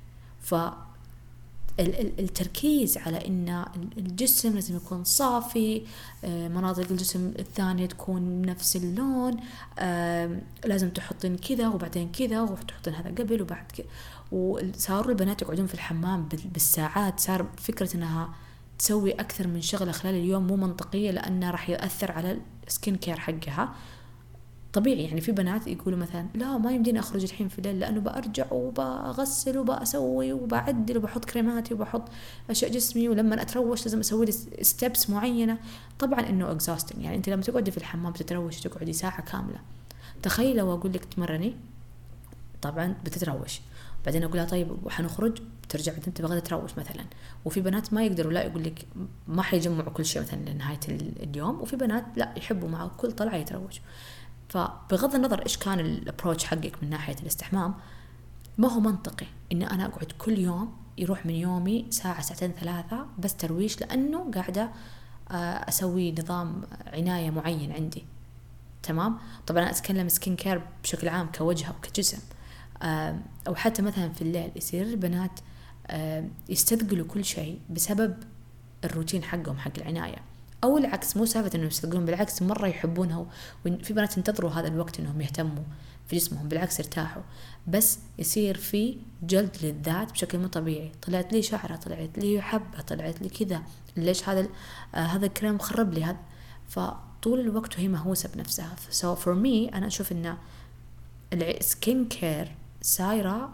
فالتركيز على إن الجسم لازم يكون صافي، مناطق الجسم الثانية تكون نفس اللون، لازم تحطين كذا وبعدين كذا وتحطين هذا قبل وبعد كذا، وصاروا البنات يقعدون في الحمام بالساعات. صار فكرة إنها تسوي أكثر من شغلة خلال اليوم مو منطقية، لأنه راح يؤثر على السكين كير حقها. طبيعي يعني في بنات يقولوا مثلا لا ما يمديني أخرج الحين في الليل لأنه بأرجع وبغسل وبأسوي وبعدل وبحط كريماتي وبحط أشياء جسمي، ولما أتروش لازم أسوي لي ستيبس معينة. طبعا إنه exhausting، يعني أنت لما تقعدي في الحمام تتروش تقعدي ساعة كاملة، تخيل لو أقول لك تمرني طبعا بتتروش، بعدين أقول لها طيب وحنخرج ترجع بعدين تبغى تتروش مثلا. وفي بنات ما يقدروا، لا يقول لك ما حيجمعوا كل شيء مثلا لنهاية اليوم، وفي بنات لا يحبوا مع كل طلعة يتروش. فبغض النظر إيش كان الابروتش حقك من ناحية الاستحمام، ما هو منطقي إن أنا أقعد كل يوم يروح من يومي ساعة ساعتين ثلاثة بس ترويش، لأنه قاعدة أسوي نظام عناية معين عندي. تمام. طبعا أنا أتكلم سكين كير بشكل عام كوجه أو كجسم، أو حتى مثلا في الليل يصير البنات يستثقلوا كل شيء بسبب الروتين حقهم حق العناية، أو العكس، مو سالفة إنهم يستثقلون، بالعكس مرة يحبونها، وفي بنات ينتظروا هذا الوقت إنهم يهتموا في جسمهم، بالعكس يرتاحوا، بس يصير في جلد للذات بشكل مو طبيعي. طلعت لي شعرة، طلعت لي حبة، طلعت لي كذا، ليش هذا آه هذا الكريم خرب لي هذا. فطول الوقت وهي مهووسة بنفسها. so for me أنا أشوف إن السكين كير صايرة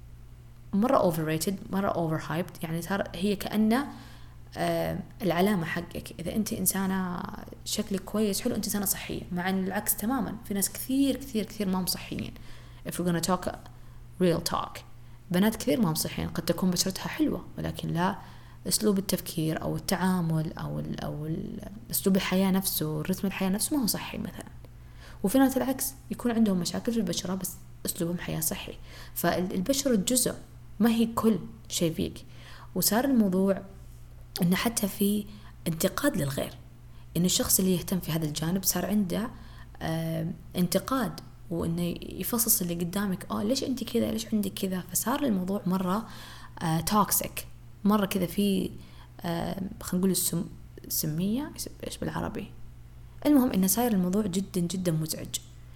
مرة overrated، مرة overhyped، يعني صار هي كأنه آه العلامة حقك. إذا أنت إنسانة شكلك كويس حلو أنت إنسانة صحية، مع أن العكس تماما. في ناس كثير كثير كثير ما هم صحيين. if we're gonna talk real talk، بنات كثير ما هم صحيين، قد تكون بشرتها حلوة ولكن لا أسلوب التفكير أو التعامل أو ال أو ال أسلوب الحياة نفسه، رتم الحياة نفسه ما هو صحي مثلا. وفي ناس العكس يكون عندهم مشاكل في البشرة بس أسلوبهم حياة صحي. فالبشرة جزء، ما هي كل شيء فيك. وصار الموضوع إنه حتى في انتقاد للغير، إن الشخص اللي يهتم في هذا الجانب صار عنده آه انتقاد، وإنه يفصص اللي قدامك، آه ليش أنت كذا، ليش عندك كذا. فصار الموضوع مرة آه توكسيك، مرة كذا في آه خلينا نقول السم سمية إيش بالعربي. المهم إنه صاير الموضوع جدا جدا مزعج.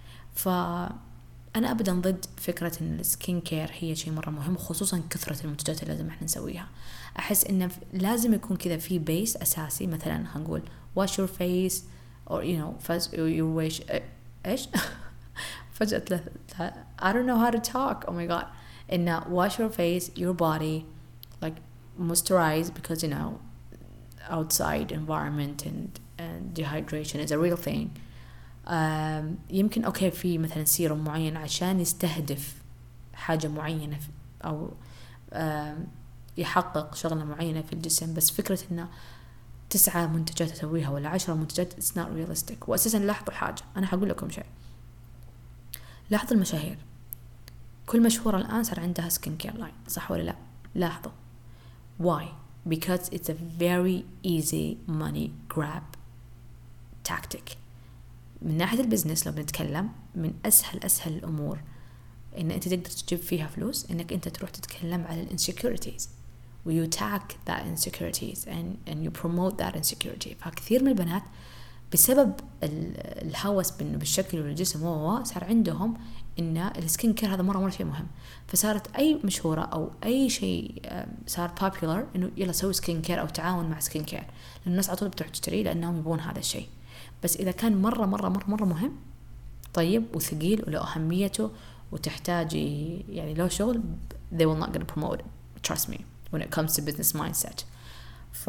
فأنا أبدا ضد فكرة إن السكين كير هي شيء مرة مهم، وخصوصا كثرة المنتجات اللي لازم إحنا نسويها. أحس إنه لازم يكون كذا في بيس أساسي، مثلا هنقول wash your face or you know your wash إيش فجأة له I don't know how to talk oh my god إنه wash your face, your body, like moisturize, because you know outside environment and and dehydration is a real thing. um, يمكن أوكي في مثلا سيروم معين عشان يستهدف حاجة معينة أو um, يحقق شغلة معينة في الجسم، بس فكرة إنه تسعة منتجات أسويها ولا عشرة منتجات it's not realistic. وأساسا لاحظوا حاجة، أنا هقول لكم شيء، لاحظوا المشاهير، كل مشهورة الآن صار عندها سكين كير لاين، صح ولا لا؟ لاحظوا why؟ because it's a very easy money grab tactic. من ناحية البزنس لو بنتكلم، من أسهل أسهل الأمور إن أنت تقدر تجيب فيها فلوس إنك أنت تروح تتكلم على الانسكيورتيز و you attack that insecurities and, and you promote that insecurity. فكثير من البنات بسبب الهوس بالشكل والجسم هو صار عندهم إن السكين كير هذا مرة مرة شيء مهم، فصارت أي مشهورة أو أي شيء صار popular إنه يلا سوي سكين كير أو تعاون مع سكين كير، لأن الناس على طول بتروح تشتري لأنهم يبون هذا الشيء. بس إذا كان مرة مرة مرة مرة مهم طيب وثقيل وله أهميته وتحتاج يعني له شغل they will not gonna promote it, trust me, when it comes to business mindset. ف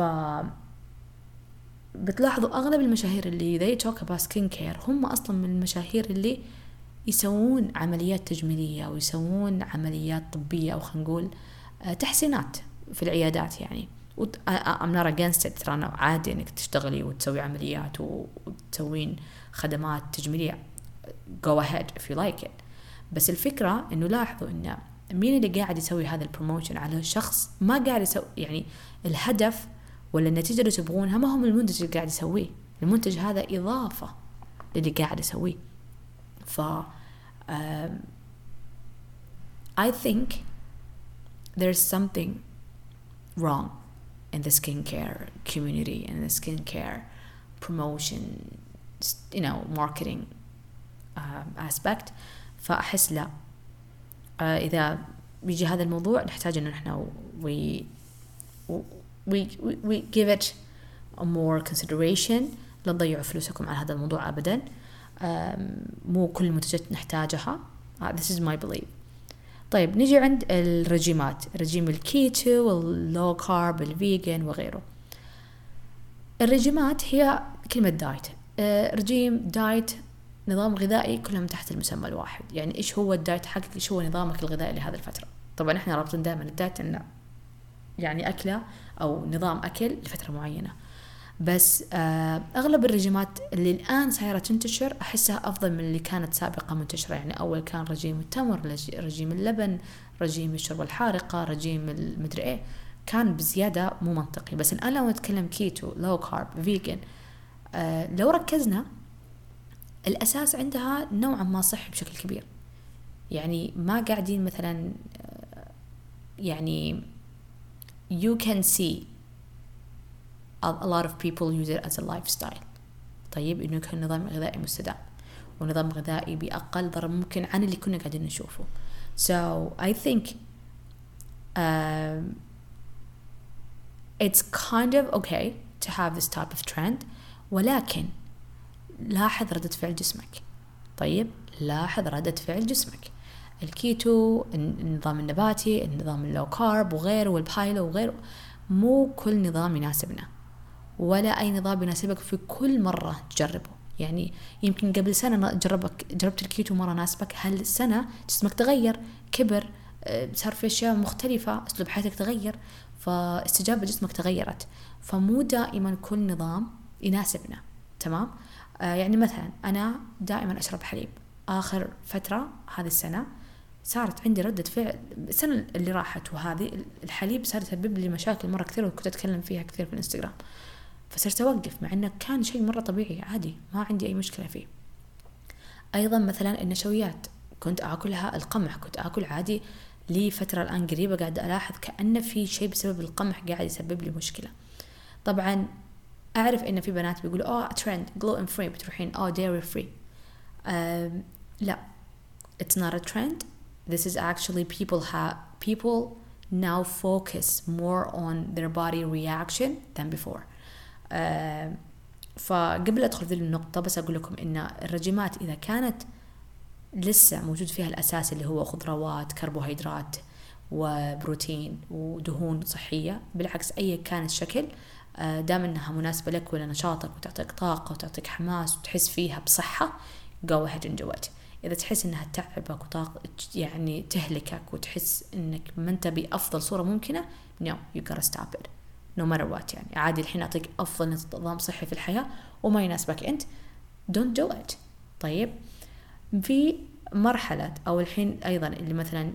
بتلاحظوا أغلب المشاهير اللي they talk about skin care هم أصلا من المشاهير اللي يسوون عمليات تجميلية ويسوون عمليات طبية أو خلينا نقول تحسينات في العيادات. يعني I'm not against it، ترى عادي إنك تشتغلي وتسوي عمليات وتسوين خدمات تجميلية go ahead if you like it. بس الفكرة إنه لاحظوا إن مين اللي قاعد يسوي هذا البروموشن على شخص ما قاعد يسوي، يعني الهدف ولا النتيجة اللي تبغونها ما هم المنتج اللي قاعد يسويه، المنتج هذا إضافة للي قاعد يسويه. ف um, I think there's something wrong in the skincare community and the skincare promotion, you know, marketing um, aspect. فأحس لا uh, إذا بيجي هذا الموضوع نحتاج إنه نحن we we we we give it a more consideration. لا تضيعوا فلوسكم على هذا الموضوع أبدا. um, مو كل المنتجات نحتاجها. uh, this is my belief. طيب نجي عند الرجيمات، رجيم الكيتو واللو كارب الفيجن وغيره. الرجيمات هي كلمة دايت، uh, رجيم دايت نظام غذائي كلهم تحت المسمى الواحد. يعني إيش هو الدايت حقك، إيش هو نظامك الغذائي لهذه الفترة. طبعا إحنا رابطين دائما الدايت إنه يعني أكلة أو نظام أكل لفترة معينة. بس آه أغلب الرجيمات اللي الآن صايرة تنتشر أحسها أفضل من اللي كانت سابقة منتشرة. يعني أول كان رجيم التمر، رجيم اللبن، رجيم الشوربة الحارقة، رجيم المدري إيه، كان بزيادة مو منطقي. بس الآن لو نتكلم كيتو، لو كارب، فيجن، آه لو ركزنا الأساس عندها نوعا ما صحي بشكل كبير. يعني ما قاعدين مثلا آه يعني you can see a lot of people use it as a lifestyle. طيب إنه يكون نظام غذائي مستدام ونظام غذائي بأقل ضرر ممكن عن اللي كنا قاعدين نشوفه. So I think um, it's kind of okay to have this type of trend. ولكن لاحظ ردة فعل جسمك. طيب لاحظ ردة فعل جسمك. الكيتو، النظام النباتي، النظام اللو كارب وغيره، والبايلو وغيره، مو كل نظام يناسبنا ولا أي نظام يناسبك في كل مرة تجربه. يعني يمكن قبل سنة جربك جربت الكيتو مرة ناسبك، هالسنة جسمك تغير، كبر، صار في أشياء مختلفة، أسلوب حياتك تغير، فاستجابة جسمك تغيرت. فمو دائما كل نظام يناسبنا. تمام؟ آه يعني مثلا أنا دائما أشرب حليب، آخر فترة هذه السنة صارت عندي ردة فعل، السنة اللي راحت وهذه الحليب صار يسبب لي مشاكل مرة كثير وكنت أتكلم فيها كثير في الانستغرام، فصرت أوقف مع أنه كان شيء مرة طبيعي عادي ما عندي أي مشكلة فيه. أيضا مثلا النشويات كنت أكلها، القمح كنت أكل عادي لفترة الآن قريبة قاعدة ألاحظ كأن في شيء بسبب القمح قاعد يسبب لي مشكلة. طبعا أعرف إن في بنات بيقولوا آه ترند gluten free، بتروحين آه dairy free. uh, لا it's not a trend. This is actually people have people now focus more on their body reaction than before. uh, فقبل أدخل في النقطة بس أقول لكم إن الرجيمات إذا كانت لسه موجود فيها الأساس اللي هو خضروات، كربوهيدرات وبروتين ودهون صحية، بالعكس أي كان الشكل دام إنها مناسبة لك ولنشاطك وتعطيك طاقة وتعطيك حماس وتحس فيها بصحة go ahead and do it. إذا تحس إنها تعبك وطاقة يعني تهلكك وتحس إنك ما أنت بأفضل صورة ممكنة no you gotta stop it no matter what. يعني عادي الحين أعطيك أفضل نظام صحي في الحياة وما يناسبك أنت don't do it. طيب في مرحلة أو الحين أيضا اللي مثلا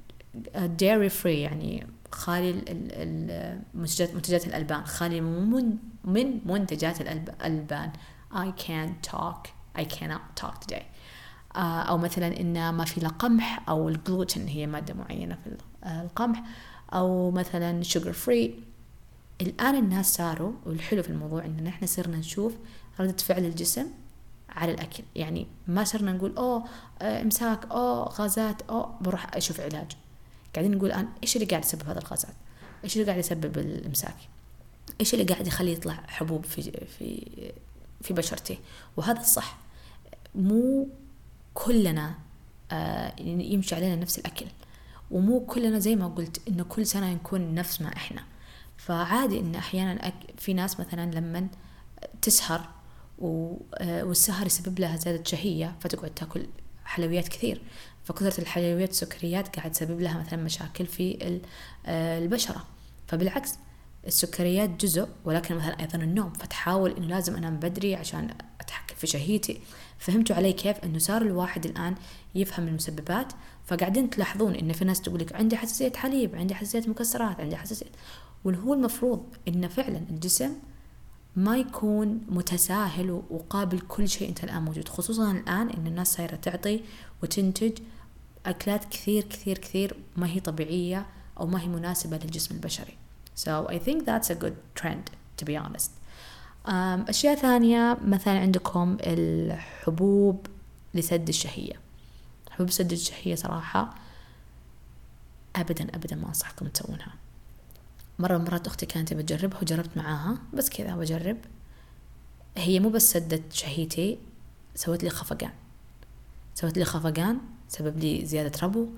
dairy free يعني خالي المنتجات منتجات الألبان، خالي من من منتجات الألبان. I can't talk I cannot talk today. أو مثلا إن ما في لا قمح أو الجلوتين هي مادة معينة في القمح أو مثلا sugar free. الآن الناس صاروا، والحلو في الموضوع إننا إحنا صرنا نشوف ردة فعل الجسم على الأكل. يعني ما صرنا نقول أوه إمساك، أوه غازات، أوه بروح أشوف علاج. قاعدين نقول الآن إيش اللي قاعد يسبب هذا الغازات، إيش اللي قاعد يسبب الإمساك، إيش اللي قاعد يخلي يطلع حبوب في في في بشرتي. وهذا الصح. مو كلنا آه يمشي علينا نفس الأكل، ومو كلنا زي ما قلت إنه كل سنة نكون نفس ما إحنا. فعادي إن أحيانا في ناس مثلا لما تسهر والسهر يسبب لها زيادة شهية فتقعد تاكل حلويات كثير، فكثرة الحلويات والسكريات قاعد تسبب لها مثلا مشاكل في البشرة. فبالعكس السكريات جزء، ولكن مثلا أيضا النوم، فتحاول إنه لازم أنام بدري عشان أتحكم في شهيتي. فهمتوا علي كيف إنه صار الواحد الآن يفهم المسببات؟ فقاعدين تلاحظون إن في ناس تقولك عندي حساسية حليب، عندي حساسية مكسرات، عندي حساسية، والهو المفروض إن فعلا الجسم ما يكون متساهل وقابل كل شيء أنت الآن موجود، خصوصا الآن إن الناس صايرة تعطي وتنتج أكلات كثير كثير كثير ما هي طبيعية أو ما هي مناسبة للجسم البشري. So I think that's a good trend to be honest. أشياء ثانية مثلا عندكم الحبوب لسد الشهية. حبوب سد الشهية صراحة أبدا أبدا ما أنصحكم تسوونها. مرة مرات أختي كانت بتجربها وجربت معاها، بس كذا بجرب. هي مو بس سدت شهيتي، سوت لي خفقان، سوت لي خفقان سبب لي زيادة ربو.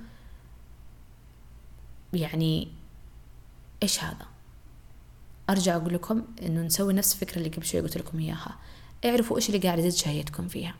يعني إيش هذا؟ أرجع أقول لكم إنه نسوي نفس الفكرة اللي قبل شوي قلت لكم إياها. اعرفوا إيش اللي قاعد يزيد شهيتكم فيها.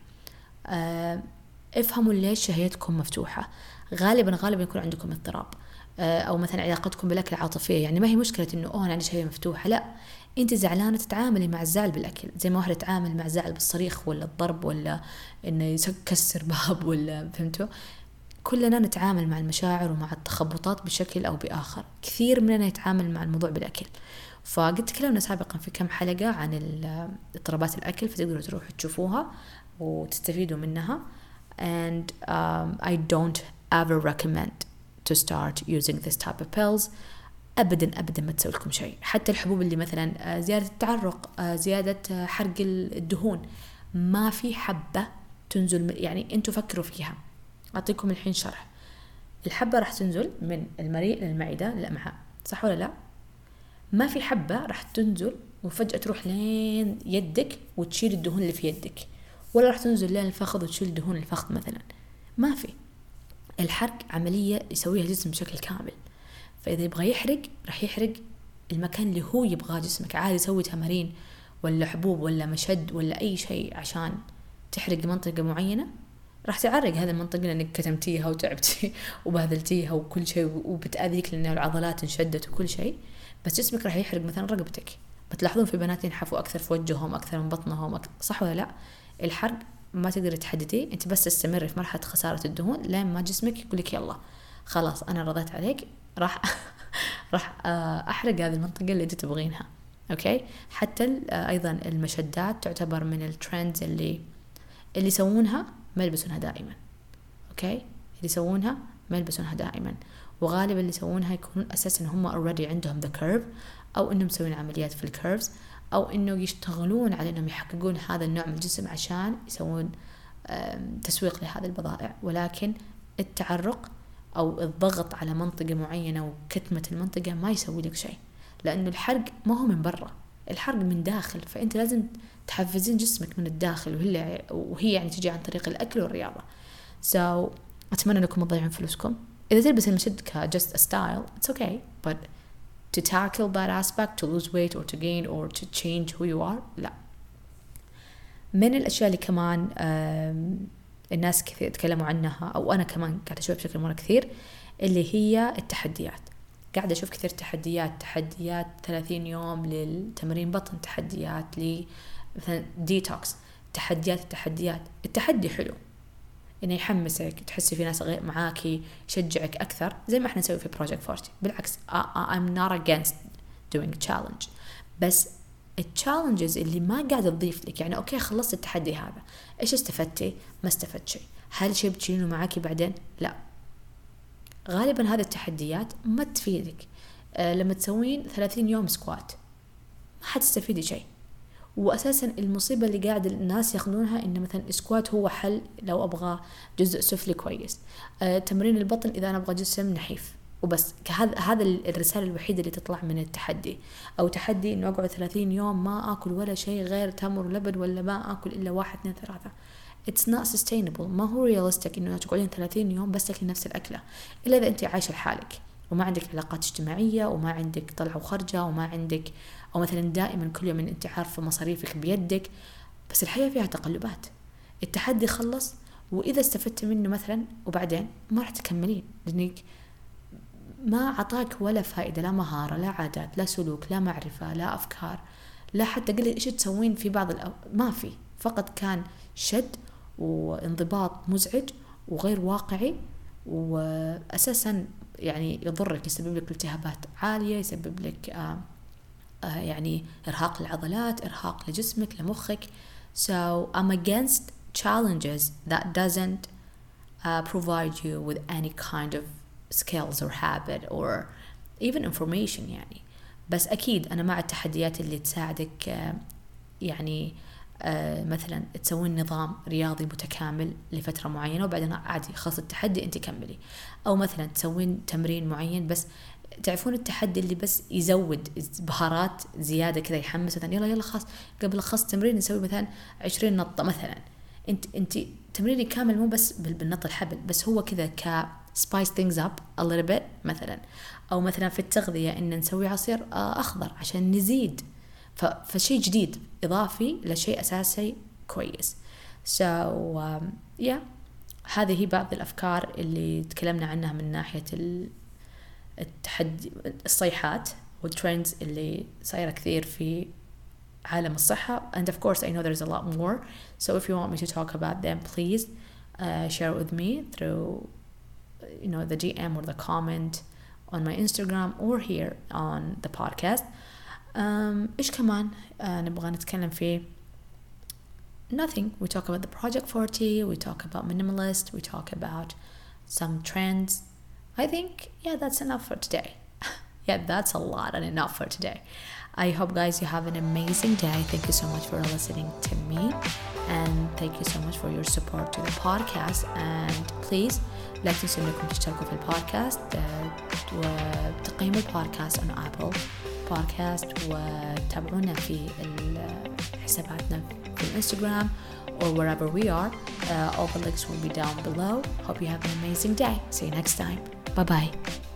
أه افهموا ليش شهيتكم مفتوحة. غالبا غالبا يكون عندكم اضطراب، أو مثلا علاقتكم بالأكل عاطفية. يعني ما هي مشكلة إنه أوه أنا عندي شهية مفتوحة، لا، أنت زعلانة تتعاملي مع الزعل بالأكل زي ما واحدة تتعامل مع الزعل بالصريخ ولا الضرب ولا إنه يكسر باب ولا، فهمتوا؟ كلنا نتعامل مع المشاعر ومع التخبطات بشكل أو بآخر. كثير مننا يتعامل مع الموضوع بالأكل. فقد تكلمنا سابقا في كم حلقة عن اضطرابات الأكل، فتقدروا تروحوا تشوفوها وتستفيدوا منها. and um, I don't ever recommend to start using this type of pills. أبدا أبدا ما تسوي لكم شيء. حتى الحبوب اللي مثلا زيادة التعرق، زيادة حرق الدهون، ما في حبة تنزل. يعني أنتوا فكروا فيها. أعطيكم الحين شرح. الحبة راح تنزل من المريء للمعدة للأمعاء، صح ولا لا؟ ما في حبة راح تنزل وفجأة تروح لين يدك وتشيل الدهون اللي في يدك، ولا راح تنزل لين الفخذ وتشيل دهون الفخذ مثلا. ما في. الحرق عملية يسويها الجسم بشكل كامل. فإذا يبغى يحرق راح يحرق المكان اللي هو يبغاه جسمك. عادي يسوي تمارين ولا حبوب ولا مشد ولا أي شيء عشان تحرق منطقة معينة، راح تعرق هذه المنطقة لأنك كتمتيها وتعبتي وبهذلتيها وكل شيء، وبتأذيك لأن العضلات انشدت وكل شيء. بس جسمك راح يحرق مثلا رقبتك. بتلاحظون في بنات ينحفوا أكثر في وجههم أكثر من بطنهم أكثر، صح ولا لا؟ الحرق ما تقدر تحدديه. أنت بس تستمر في مرحلة خسارة الدهون لين ما جسمك يقولك يلا خلاص أنا رضيت عليك، راح راح أحرق هذه المنطقة اللي أنت تبغينها. أوكي. حتى أيضا المشدات تعتبر من الترندز اللي اللي يسوونها ما يلبسونها دائما. أوكي. اللي يسوونها ما يلبسونها دائما، وغالبا اللي يسوونها يكونون أساسا هم already عندهم the curve، أو إنهم مسوين عمليات في الكيرفز، أو إنه يشتغلون على إنهم يحققون هذا النوع من الجسم عشان يسوون تسويق لهذه البضائع. ولكن التعرق أو الضغط على منطقة معينة وكتمة المنطقة ما يسوي لك شيء، لأنه الحرق ما هو من برا، الحرق من داخل. فأنت لازم تحفزين جسمك من الداخل، وهي وهي يعني تجي عن طريق الأكل والرياضة. so أتمنى أنكم تضيعون فلوسكم. إذا تلبس المشد ك just a style it's okay, but to tackle that aspect, to lose weight or to gain or to change who you are, لا. من الأشياء اللي كمان الناس كثير تكلموا عنها، أو أنا كمان قاعدة أشوف بشكل مرة كثير، اللي هي التحديات. قاعدة أشوف كثير تحديات تحديات ثلاثين يوم للتمرين بطن، تحديات ل مثلا ديتوكس، تحديات التحديات التحدي حلو إنه يحمسك، تحسي في ناس غير معاكي يشجعك أكثر، زي ما إحنا نسوي في Project فورتي. بالعكس I'm not against doing challenge، بس التشالنجز اللي ما قاعدة تضيف لك، يعني أوكي خلصت التحدي هذا، إيش استفدتي؟ ما استفدت شيء. هل شيء بتشيلينه معاكي بعدين؟ لا. غالبا هذه التحديات ما تفيدك. أه لما تسوين ثلاثين يوم سكوات ما حتستفيدي شيء. وأساسا المصيبة اللي قاعد الناس ياخذونها إن مثلا السكوات هو حل لو أبغى جزء سفلي كويس، أه تمرين البطن إذا أنا أبغى جسم نحيف وبس. هذا هذا الرسالة الوحيدة اللي تطلع من التحدي. أو تحدي إنه أقعد ثلاثين يوم ما أكل ولا شيء غير تمر ولبن، ولا ما أكل إلا واحد اثنين ثلاثة. It's not sustainable. ما هو realistic إنه تقعدين ثلاثين يوم بس تاكلين نفس الأكلة، إلا إذا أنت عايشة لحالك وما عندك علاقات اجتماعية وما عندك طلعة وخرجة وما عندك، أو مثلا دائما كل يوم أنت عارفة مصاريفك بيدك. بس الحياة فيها تقلبات. التحدي خلص وإذا استفدت منه مثلا وبعدين ما راح تكملين، لأنك ما عطاك ولا فائدة، لا مهارة لا عادات لا سلوك لا معرفة لا أفكار لا حتى قلت إيش تسوين في بعض الأو... ما في، فقط كان شد وانضباط مزعج وغير واقعي، وأساسا يعني يضرك، يسبب لك التهابات عالية، يسبب لك آه آه يعني إرهاق للعضلات، إرهاق لجسمك لمخك. So I'm against challenges that doesn't uh, provide you with any kind of skills or habit or even information يعني. بس أكيد أنا مع التحديات اللي تساعدك آه يعني آه مثلا تسوين نظام رياضي متكامل لفترة معينة وبعدين عادي خلص التحدي انت كملي. او مثلا تسوين تمرين معين بس تعرفون التحدي اللي بس يزود بهارات زيادة كذا يحمس، مثلا يلا يلا خلاص قبل خلص تمرين نسوي مثلا عشرين نطة مثلا. انت انت تمريني كامل مو بس بالنط الحبل، بس هو كذا ك spice things up a little bit مثلا. او مثلا في التغذية ان نسوي عصير آه اخضر عشان نزيد، فشيء جديد إضافي لشيء أساسي كويس. so um, yeah هذه هي بعض الأفكار اللي تكلمنا عنها من ناحية التحدي، الصيحات والترندز اللي صايرة كثير في عالم الصحة. and of course I know there's a lot more, so if you want me to talk about them please uh, share it with me through you know the D M or the comment on my Instagram or here on the podcast. Um, إيش كمان uh, نبغى نتكلم فيه؟ Nothing. We talk about the Project forty, we talk about minimalist, we talk about some trends. I think yeah that's enough for today. Yeah, that's a lot and enough for today. I hope guys you have an amazing day. Thank you so much for listening to me, and thank you so much for your support to the podcast. And please لا تنسوا انكم تشتركوا في البودكاست وتقيموا البودكاست on Apple Podcast وتابعونا في حساباتنا في الانستغرام or wherever we are. Uh, all the links will be down below. Hope you have an amazing day. See you next time. Bye bye.